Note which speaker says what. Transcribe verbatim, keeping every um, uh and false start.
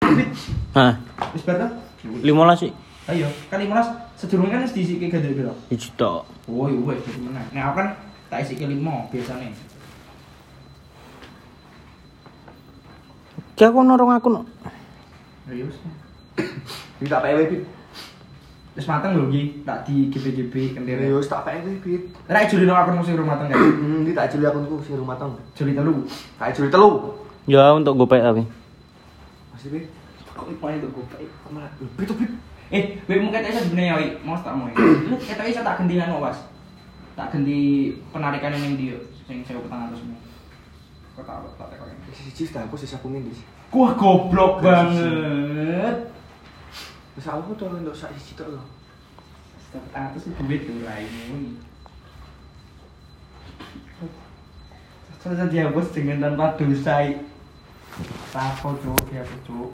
Speaker 1: Hah.
Speaker 2: Wis bar ta?
Speaker 1: lima belas sih.
Speaker 2: Ayo, kan lima belas sedurunge kan wis diisike gandel piro?
Speaker 1: Siji tok.
Speaker 2: Oh, iya wis dadi meneh. Nek aku kan tak isike lima biasane.
Speaker 1: Ki aku norong aku no.
Speaker 2: Ayo wis.
Speaker 3: Iki tak pewe Bit.
Speaker 2: Wis mateng lho iki, tak di G P G B kendere.
Speaker 3: Yo wis tak pewe Bit.
Speaker 2: Nek juli nang akun sing rumah teng kan.
Speaker 3: Hmm, iki tak juli akunku sing rumah tang.
Speaker 2: Juli telu.
Speaker 3: Tak juli telu.
Speaker 1: Ya untuk gopek tapi.
Speaker 3: Masih Bit.
Speaker 2: Kok ipo itu gopek?
Speaker 3: Malah Bit Bit.
Speaker 2: Eh, wek mung ketek iso dibene ya, Wi. Mau tak mau. Lu ketek iso tak gendingan Was. Tak gendi penarikan ning ndi yo sing seribu empat ratus mu. Kok tak tak tekok.
Speaker 3: Siji tak aku sisa kuning dis.
Speaker 2: Wah, goblok banget.
Speaker 3: Wis aku tuh untuk sak siji tok lho.
Speaker 2: seribu empat ratus itu duit tuh raimu. Terus dihapus dengan tanpa dosa. Tapo cuk, dihapus cuk.